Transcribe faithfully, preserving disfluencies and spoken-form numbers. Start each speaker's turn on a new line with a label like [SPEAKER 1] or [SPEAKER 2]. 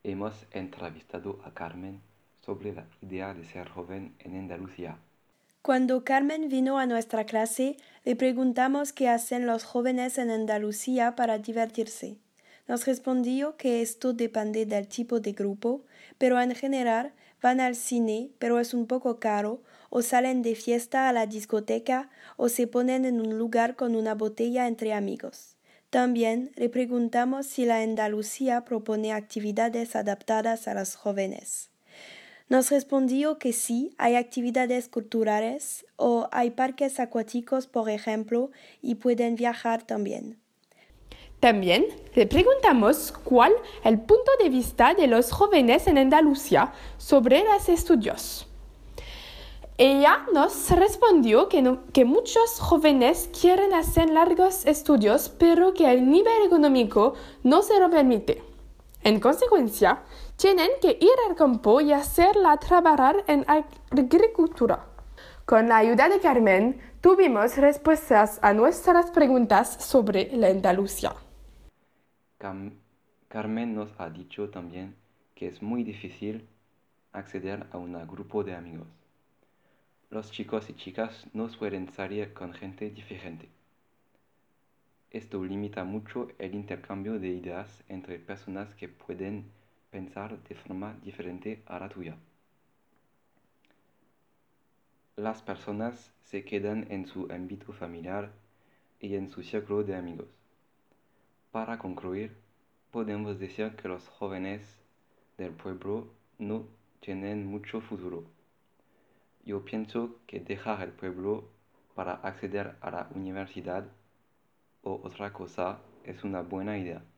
[SPEAKER 1] Hemos entrevistado a Carmen sobre la idea de ser joven en Andalucía.
[SPEAKER 2] Cuando Carmen vino a nuestra clase, le preguntamos qué hacen los jóvenes en Andalucía para divertirse. Nos respondió que esto depende del tipo de grupo, pero en general van al cine, pero es un poco caro, o salen de fiesta a la discoteca, o se ponen en un lugar con una botella entre amigos. También le preguntamos si la Andalucía propone actividades adaptadas a los jóvenes. Nos respondió que sí, hay actividades culturales o hay parques acuáticos, por ejemplo, y pueden viajar también.
[SPEAKER 3] También le preguntamos cuál es el punto de vista de los jóvenes en Andalucía sobre los estudios. Ella nos respondió que, no, que muchos jóvenes quieren hacer largos estudios, pero que el nivel económico no se lo permite. En consecuencia, tienen que ir al campo y hacerla trabajar en agricultura. Con la ayuda de Carmen, tuvimos respuestas a nuestras preguntas sobre la Andalucía.
[SPEAKER 1] Cam- Carmen nos ha dicho también que es muy difícil acceder a un grupo de amigos. Los chicos y chicas no suelen salir con gente diferente. Esto limita mucho el intercambio de ideas entre personas que pueden pensar de forma diferente a la tuya. Las personas se quedan en su ámbito familiar y en su círculo de amigos. Para concluir, podemos decir que los jóvenes del pueblo no tienen mucho futuro. Yo pienso que dejar el pueblo para acceder a la universidad o otra cosa es una buena idea.